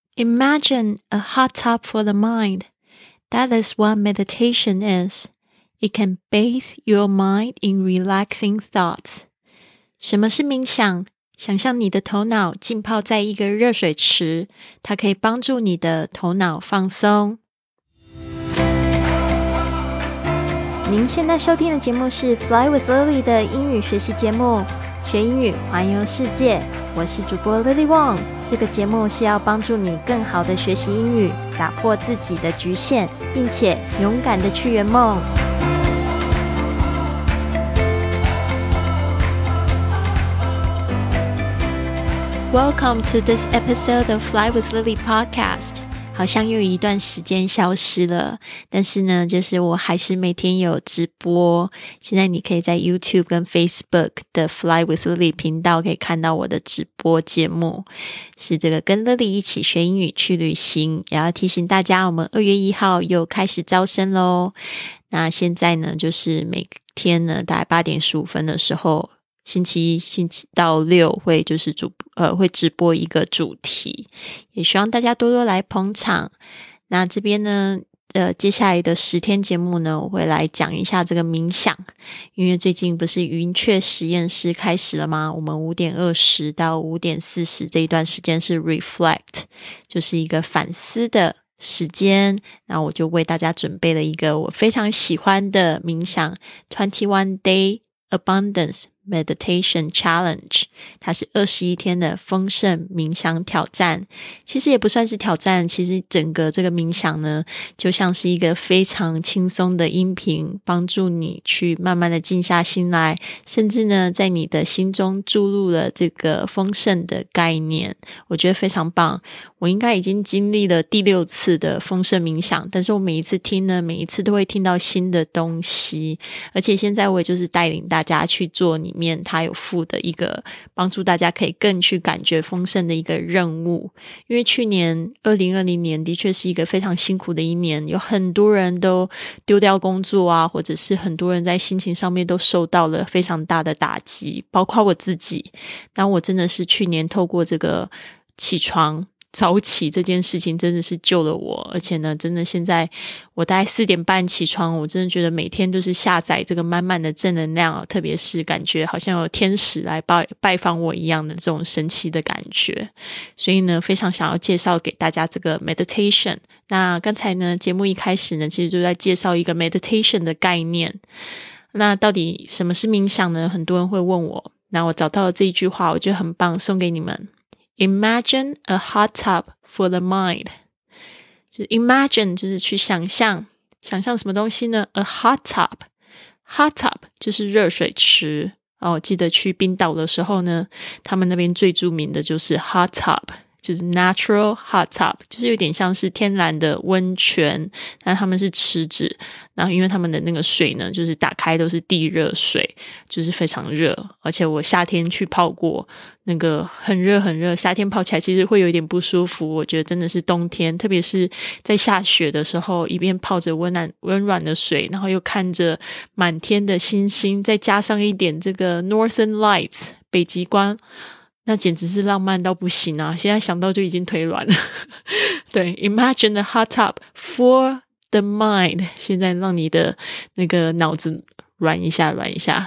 Imagine a hot tub for the mind. That is what meditation is. It can bathe your mind in relaxing thoughts. 什么是冥想？想象你的头脑浸泡在一个热水池，它可以帮助你的头脑放松。您现在收听的节目是 Fly with Lily 的英语学习节目，学英语环游世界。我是主播 Lily Wong， 这个节目是要帮助你更好的学习英语，打破自己的局限，并且勇敢的去圆梦。Welcome to this episode of Fly with Lily podcast. 好像又有一段时间消失了，但是呢，就是我还是每天有直播。现在你可以在 YouTube 跟 Facebook 的 Fly with Lily 频道可以看到我的直播节目，是这个跟 Lily 一起学英语去旅行。也要提醒大家，我们2月1号又开始招生咯。那现在呢，就是每天呢大概8点15分的时候，星期一、星期到6会就是会直播一个主题，也希望大家多多来捧场。那这边呢接下来的10天节目呢，我会来讲一下这个冥想，因为最近不是云雀实验室开始了吗？我们5点20到5点40这一段时间是 reflect， 就是一个反思的时间。那我就为大家准备了一个我非常喜欢的冥想 21 Day Abundance Meditation Challenge， 它是21天的丰盛冥想挑战。其实也不算是挑战，其实整个这个冥想呢，就像是一个非常轻松的音频，帮助你去慢慢的静下心来，甚至呢，在你的心中注入了这个丰盛的概念。我觉得非常棒。我应该已经经历了第6次的丰盛冥想，但是我每一次听呢，每一次都会听到新的东西。而且现在我也就是带领大家去做里面它有附的一个帮助大家可以更去感觉丰盛的一个任务。因为去年2020年的确是一个非常辛苦的一年，有很多人都丢掉工作啊，或者是很多人在心情上面都受到了非常大的打击，包括我自己。那我真的是去年透过这个起床早起这件事情真的是救了我，而且呢，真的现在我大概4点半起床，我真的觉得每天都是下载这个满满的正能量，特别是感觉好像有天使来拜访我一样的这种神奇的感觉。所以呢，非常想要介绍给大家这个 meditation。那刚才呢，节目一开始呢，其实就在介绍一个 meditation 的概念。那到底什么是冥想呢？很多人会问我，那我找到了这一句话，我觉得很棒，送给你们。Imagine a hot tub for the mind. 就是 imagine 就是去想象什么东西呢？ A hot tub. Hot tub 就是热水池。我记得去冰岛的时候呢，他们那边最著名的就是 hot tub， 就是 natural hot tub， 就是有点像是天然的温泉，但他们是池子，然后因为他们的那个水呢，就是打开都是地热水，就是非常热。而且我夏天去泡过，那个很热很热，夏天泡起来其实会有一点不舒服。我觉得真的是冬天，特别是在下雪的时候，一边泡着温软的水，然后又看着满天的星星，再加上一点这个 Northern Lights 北极光，那简直是浪漫到不行啊！现在想到就已经腿软了。对 ，Imagine a hot tub for the mind， 现在让你的那个脑子软一下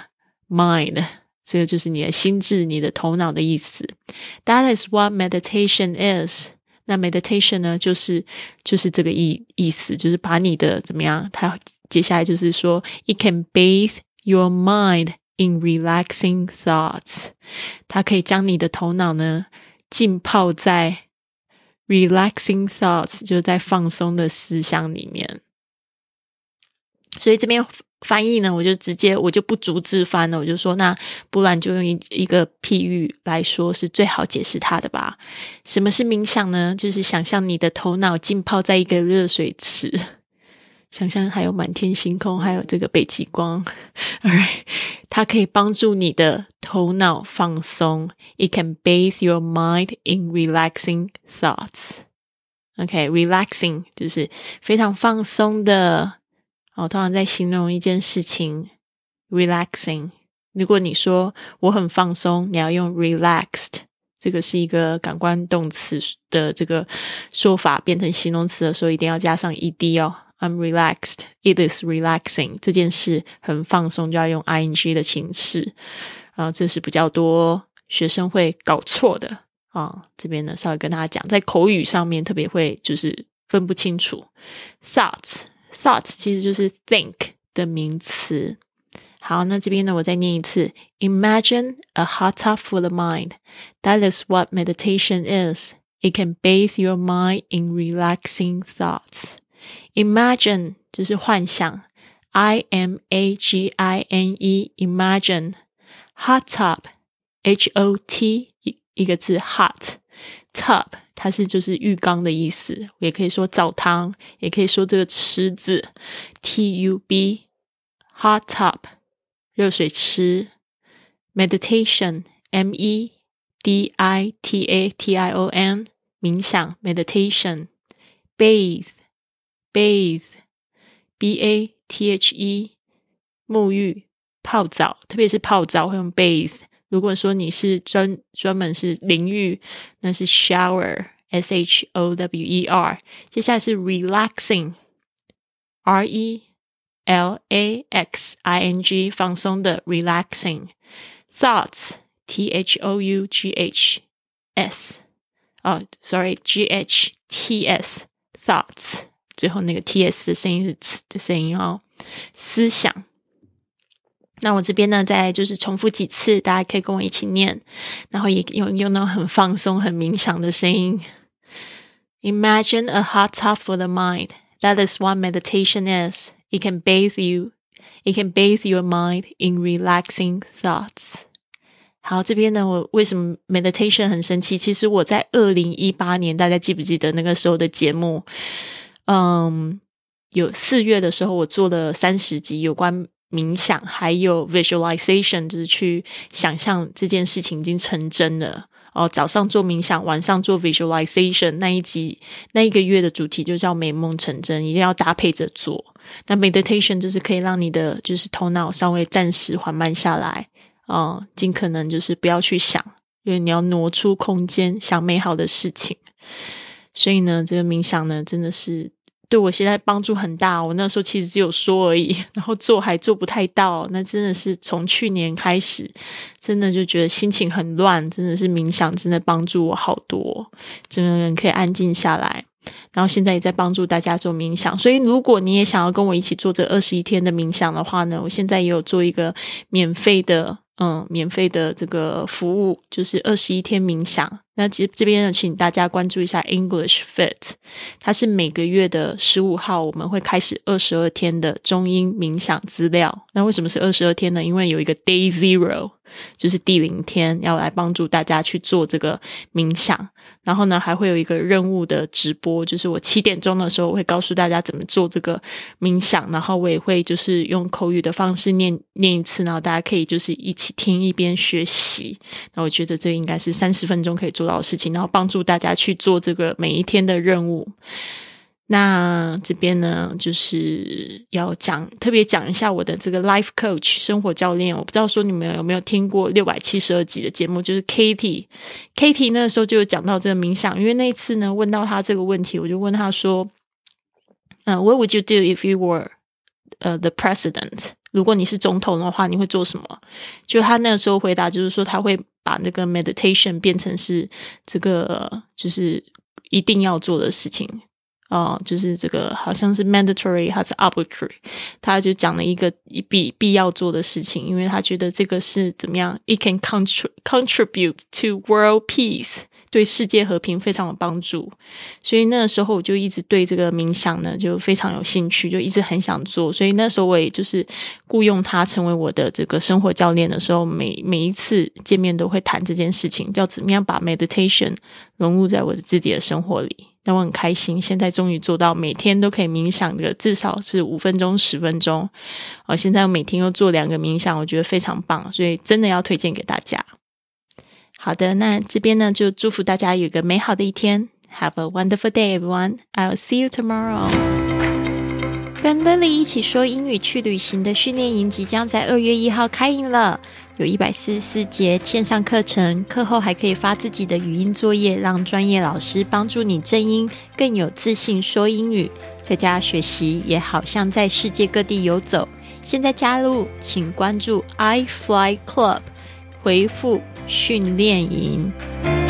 ，mind。这个就是你的心智，你的头脑的意思。That is what meditation is。那 meditation 呢，就是这个意思，就是把你的怎么样？它接下来就是说 ，it can bathe your mind in relaxing thoughts。它可以将你的头脑呢浸泡在 relaxing thoughts， 就是在放松的思想里面。所以这边翻译呢，我就不逐字翻了，我就说那不然就用一个譬喻来说是最好解释它的吧。什么是冥想呢？就是想象你的头脑浸泡在一个热水池，想象还有满天星空，还有这个北极光。Alright， 它可以帮助你的头脑放松。It can bathe your mind in relaxing thoughts。OK， relaxing 就是非常放松的。通常在形容一件事情 relaxing， 如果你说我很放松，你要用 relaxed 这个是一个感官动词的这个说法，变成形容词的时候一定要加上 ed 哦。I'm relaxed, it is relaxing， 这件事很放松就要用 ing 的形式，这是比较多学生会搞错的这边呢稍微跟大家讲，在口语上面特别会就是分不清楚。Thoughts 其实就是 think 的名词。好，那这边呢我再念一次 Imagine a hot tub for the mind. That is what meditation is. It can bathe your mind in relaxing thoughts. Imagine 就是幻想 I-M-A-G-I-N-E Imagine Hot tub H-O-T 一个字 hot Tub 它是就是浴缸的意思，也可以说澡堂，也可以说这个池子 T-U-B Hot tub 热水池。 Meditation M-E-D-I-T-A-T-I-O-N 冥想 Meditation。 Bathe B-A-T-H-E 沐浴泡澡，特别是泡澡会用 bathe。 如果说你是专门是淋浴，那是 shower S-H-O-W-E-R。 接下来是 relaxing R-E-L-A-X-I-N-G 放松的 relaxing。 Thoughts T-H-O-U-G-H-S G-H-T-S Thoughts， 最后那个 T-S 的声音是 T 的声音思想。那我这边呢再就是重复几次，大家可以跟我一起念，然后也用那種很放松很冥想的声音。 Imagine a hot tub for the mind. That is what meditation is. It can bathe your mind in relaxing thoughts. 好，这边呢我为什么 meditation 很生气，其实我在2018年大家记不记得那个时候的节目，有4月的时候我做了30集有关冥想还有 visualization， 就是去想象这件事情已经成真了早上做冥想晚上做 visualization， 那一个月的主题就叫美梦成真，一定要搭配着做。那 meditation 就是可以让你的就是头脑稍微暂时缓慢下来尽可能就是不要去想，因为你要挪出空间想美好的事情。所以呢这个冥想呢真的是对我现在帮助很大。我那时候其实只有说而已，然后做还做不太到，那真的是从去年开始真的就觉得心情很乱，真的是冥想真的帮助我好多，整个人可以安静下来，然后现在也在帮助大家做冥想。所以如果你也想要跟我一起做这21天的冥想的话呢，我现在也有做一个免费的这个服务，就是21天冥想。那这边呢请大家关注一下 English Fit， 它是每个月的15号我们会开始22天的中英冥想资料。那为什么是22天呢？因为有一个 Day Zero， 就是第0天要来帮助大家去做这个冥想。然后呢还会有一个任务的直播，就是我7点钟的时候我会告诉大家怎么做这个冥想，然后我也会就是用口语的方式念一次，然后大家可以就是一起听一边学习。那我觉得这应该是30分钟可以做到的事情，然后帮助大家去做这个每一天的任务。那这边呢就是要特别讲一下我的这个 life coach 生活教练。我不知道说你们有没有听过672集的节目，就是 Katie 那时候就有讲到这个冥想。因为那一次呢问到他这个问题，我就问他说What would you do if you were the president？ 如果你是总统的话你会做什么？就他那个时候回答就是说他会把那个 meditation 变成是这个就是一定要做的事情就是这个好像是 mandatory 还是 arbitrary， 他就讲了一个必要做的事情，因为他觉得这个是怎么样 it can contribute to world peace， 对世界和平非常有帮助。所以那个时候我就一直对这个冥想呢就非常有兴趣，就一直很想做。所以那时候我也就是雇佣他成为我的这个生活教练的时候，每一次见面都会谈这件事情，叫怎么样把 meditation 融入在我的自己的生活里。那我很开心，现在终于做到每天都可以冥想的，至少是5分钟10分钟现在我每天又做2个冥想，我觉得非常棒，所以真的要推荐给大家。好的，那这边呢就祝福大家有一个美好的一天。 Have a wonderful day everyone. I'll see you tomorrow. 跟 Lily 一起说英语去旅行的训练营即将在2月1号开营了， 有144节线上课程，课后还可以发自己的语音作业，让专业老师帮助你正音，更有自信说英语。在家学习也好像在世界各地游走。现在加入，请关注 iFly Club， 回复训练营。